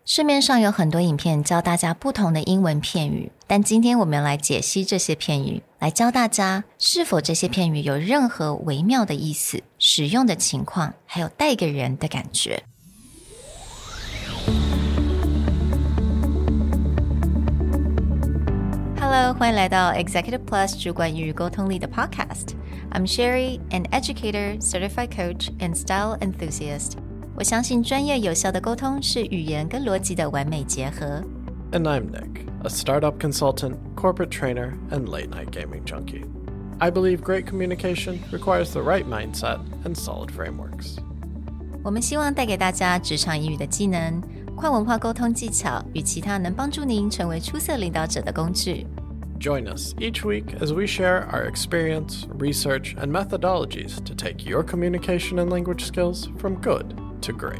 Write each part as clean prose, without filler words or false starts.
市面上有很多影片教大家不同的英文片语，但今天我们来解析这些片语，来教大家是否这些片语有任何微妙的意思、使用的情况，还有带给人的感觉。Hello， 欢迎来到 Executive Plus 主管与沟通力的 Podcast。I'm Sherry, an educator, certified coach, and style enthusiast. 我相信专业有效的沟通是语言跟逻辑的完美结合。 And I'm Nick, a startup consultant, corporate trainer, and late-night gaming junkie. I believe great communication requires the right mindset and solid frameworks. 我们希望带给大家职场英语的技能、跨文化沟通技巧与其他能帮助您成为出色领导者的工具。 Join us each week as we share our experience, research, and methodologies to take your communication and language skills from good to great.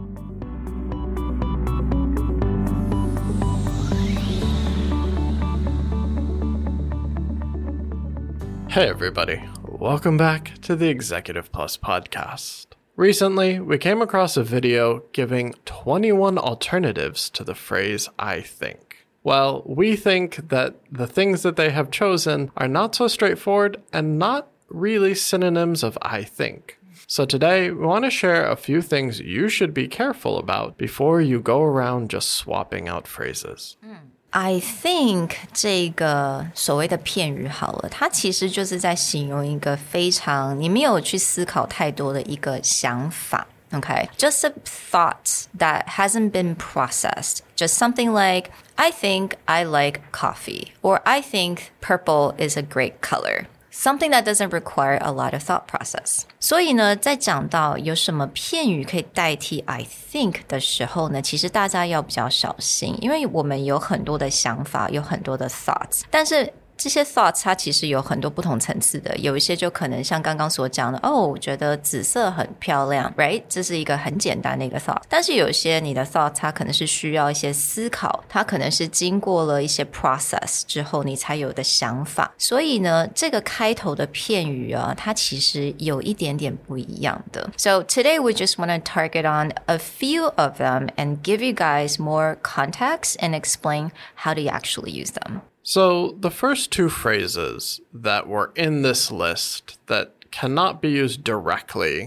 Hey everybody, welcome back to the Executive Plus podcast. Recently, we came across a video giving 21 alternatives to the phrase I think. Well, we think that the things that they have chosen are not so straightforward and not really synonyms of I think. So today, we want to share a few things you should be careful about before you go around just swapping out phrases. I think 这个所谓的片语好了，它其实就是在形容一个非常你没有去思考太多的一个想法。Okay, just a thought that hasn't been processed. Just something like, I think I like coffee, or I think purple is a great color.Something that doesn't require a lot of thought process. 所以呢，在讲到有什么片语可以代替 I think 的时候呢，其实大家要比较小心，因为我们有很多的想法，有很多的 thoughts， 但是这些 thoughts 它其实有很多不同层次的，有一些就可能像刚刚所讲的，我觉得紫色很漂亮 right？ 这是一个很简单的一个 thought， 但是有一些你的 thought 它可能是需要一些思考，它可能是经过了一些 process 之后你才有的想法，所以呢，这个开头的片语啊，它其实有一点点不一样的。So today we just want to target on a few of them and give you guys more context and explain how to actually use them.So the first two phrases that were in this list that cannot be used directly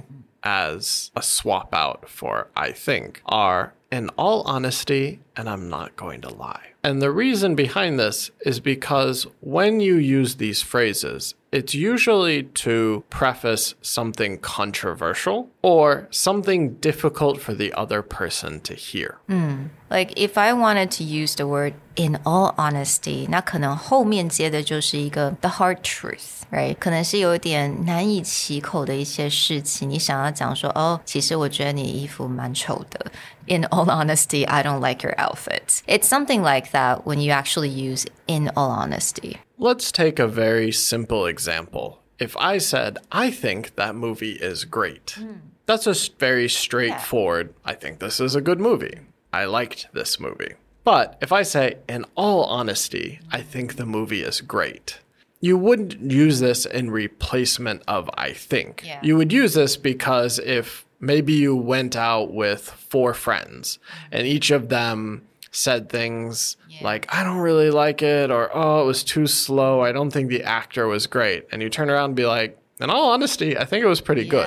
as a swap out for I think are in all honesty and I'm not going to lie. And the reason behind this is because when you use these phrases, it's usually to preface something controversial or something difficult for the other person to hear. Like if I wanted to use the word in all honesty, 那可能后面接的就是一个 the hard truth, right? 可能是有点难以启口的一些事情，你想要讲说，其实我觉得你衣服蛮丑的。In all honesty, I don't like your outfit. It's something like that when you actually use in all honesty. Let's take a very simple example. If I said, I think that movie is great. That's a very straightforward, I think this is a good movie. I liked this movie. But if I say, in all honesty, I think the movie is great. You wouldn't use this in replacement of I think. Yeah. You would use this because if maybe you went out with 4 friends and each of them said things like, I don't really like it, or, it was too slow. I don't think the actor was great. And you turn around and be like, in all honesty, I think it was pretty good.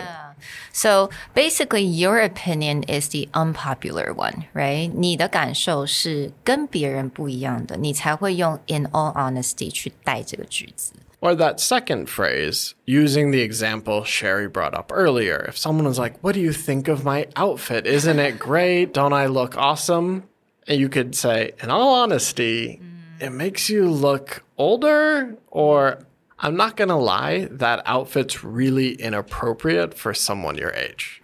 So basically, your opinion is the unpopular one, right? 你的感受是跟别人不一样的，你才会用 in all honesty 去带这个句子。 Or that second phrase, using the example Sherry brought up earlier. If someone was like, what do you think of my outfit? Isn't it great? Don't I look awesome? And you could say, in all honesty, it makes you look older, or I'm not going to lie, that outfit's really inappropriate for someone your age.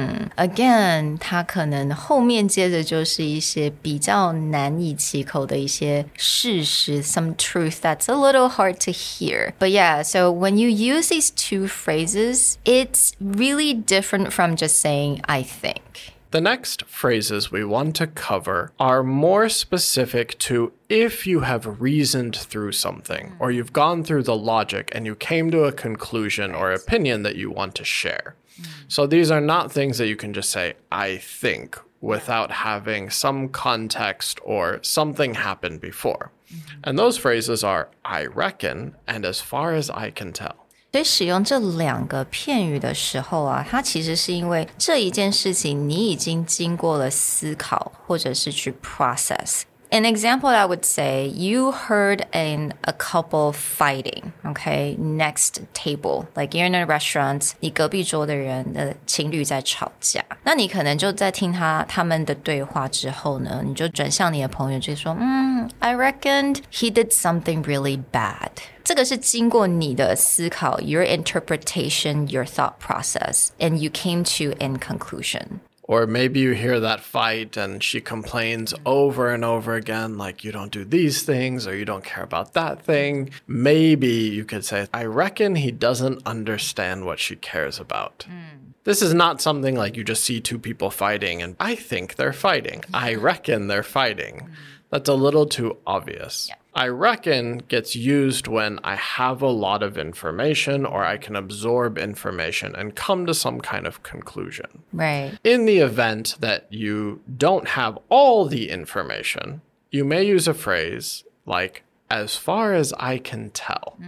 Again, 它可能后面接着就是一些比较难以启口的一些事实 some truth that's a little hard to hear. But yeah, so when you use these two phrases, it's really different from just saying, I think. The next phrases we want to cover are more specific to if you have reasoned through something or you've gone through the logic and you came to a conclusion or opinion that you want to share. So these are not things that you can just say, I think, without having some context or something happened before. And those phrases are I reckon and as far as I can tell. 所以使用这两个片语的时候啊，它其实是因为这一件事情你已经经过了思考，或者是去 process。An example I would say, you heard a couple fighting, okay, next table. Like you're in a restaurant, 你隔壁桌的人的情侣在吵架。那你可能就在听他们的对话之后呢，你就转向你的朋友就说I reckoned he did something really bad. 这个是经过你的思考 your interpretation, your thought process, and you came to a conclusion.Or maybe you hear that fight and she complains over and over again, like you don't do these things or you don't care about that thing. Maybe you could say, I reckon he doesn't understand what she cares about. This is not something like you just see two people fighting and I think they're fighting. I reckon they're fighting. That's a little too obvious. I reckon gets used when I have a lot of information or I can absorb information and come to some kind of conclusion. Right. In the event that you don't have all the information, you may use a phrase like, as far as I can tell.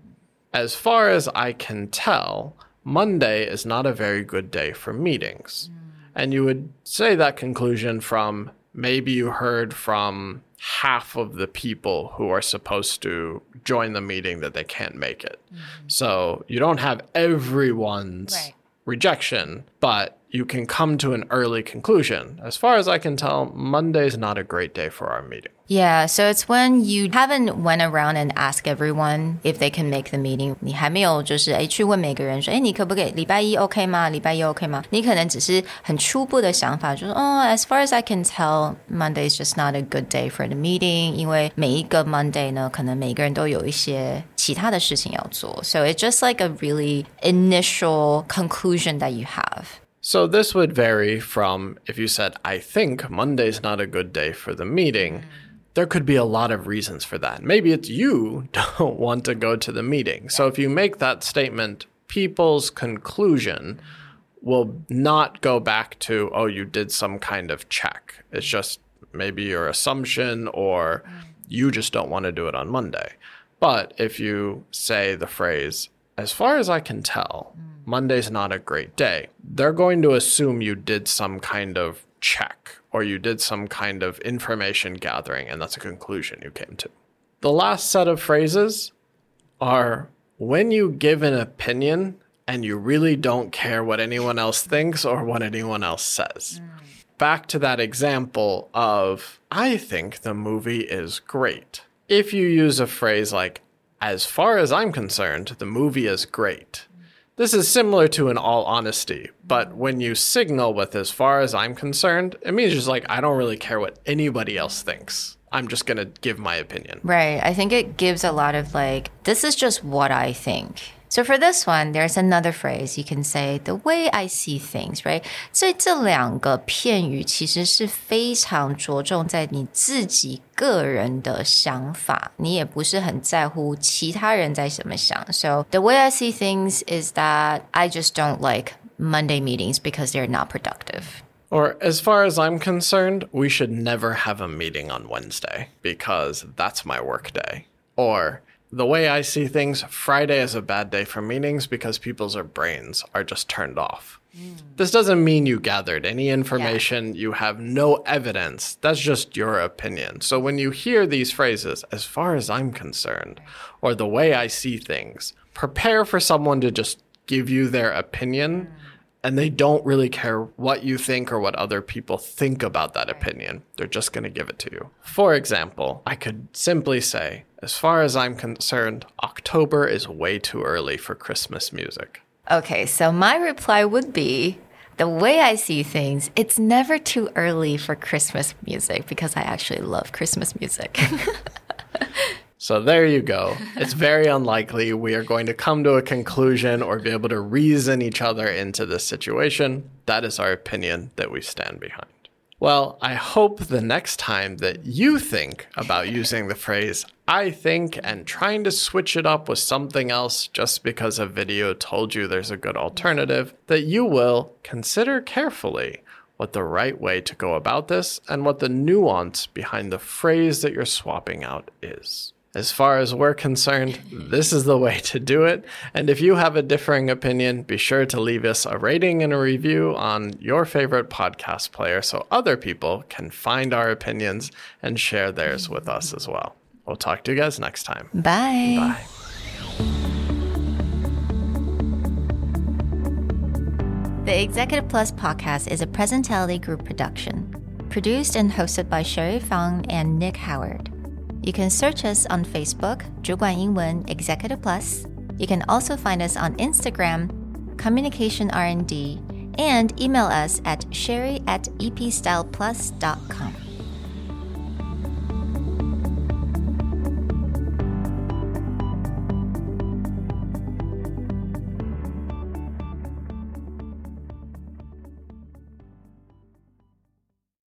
As far as I can tell, Monday is not a very good day for meetings. And you would say that conclusion from maybe you heard from half of the people who are supposed to join the meeting that they can't make it. So you don't have everyone's rejection, but you can come to an early conclusion. As far as I can tell, Monday's not a great day for our meeting. Yeah, so it's when you haven't went around and asked everyone if they can make the meeting. 你还没有就是去问每个人说，你可不可以礼拜一 OK 吗？礼拜一 OK 吗？你可能只是很初步的想法，就是as far as I can tell, Monday is just not a good day for the meeting. 因为每一个 Monday 呢，可能每个人都有一些其他的事情要做。So it's just like a really initial conclusion that you have. So this would vary from if you said, I think Monday's not a good day for the meeting. There could be a lot of reasons for that. Maybe it's you don't want to go to the meeting. So if you make that statement, people's conclusion will not go back to, oh, you did some kind of check. It's just maybe your assumption or you just don't want to do it on Monday. But if you say the phrase, as far as I can tell, Monday's not a great day, they're going to assume you did some kind of check or you did some kind of information gathering, and that's a conclusion you came to. The last set of phrases are when you give an opinion and you really don't care what anyone else thinks or what anyone else says. Back to that example of, I think the movie is great. If you use a phrase like, as far as I'm concerned, the movie is great. This is similar to an all honesty, but when you signal with as far as I'm concerned, it means just like, I don't really care what anybody else thinks. I'm just going to give my opinion. Right. I think it gives a lot of like, this is just what I think. So for this one, there's another phrase you can say, the way I see things, right? 所以这两个片语其实是非常着重在你自己个人的想法，你也不是很在乎其他人在怎么想。So the way I see things is that I just don't like Monday meetings because they're not productive. Or as far as I'm concerned, we should never have a meeting on Wednesday because that's my work day. Or the way I see things, Friday is a bad day for meetings because people's brains are just turned off. This doesn't mean you gathered any information. You have no evidence. That's just your opinion. So when you hear these phrases, as far as I'm concerned, or the way I see things, prepare for someone to just give you their opinion. And they don't really care what you think or what other people think about that opinion. They're just going to give it to you. For example, I could simply say, as far as I'm concerned, October is way too early for Christmas music. Okay, so my reply would be, the way I see things, it's never too early for Christmas music because I actually love Christmas music. So there you go. It's very unlikely we are going to come to a conclusion or be able to reason each other into this situation. That is our opinion that we stand behind. Well, I hope the next time that you think about using the phrase, I think, and trying to switch it up with something else just because a video told you there's a good alternative, that you will consider carefully what the right way to go about this and what the nuance behind the phrase that you're swapping out is. As far as we're concerned, this is the way to do it. And if you have a differing opinion, be sure to leave us a rating and a review on your favorite podcast player so other people can find our opinions and share theirs with us as well. We'll talk to you guys next time. Bye. Bye. The Executive Plus podcast is a Presentality Group production, produced and hosted by Sherry Fang and Nick Howard. You can search us on Facebook, 主管英文 Executive Plus. You can also find us on Instagram, Communication R&D, and email us at sherry@epstyleplus.com.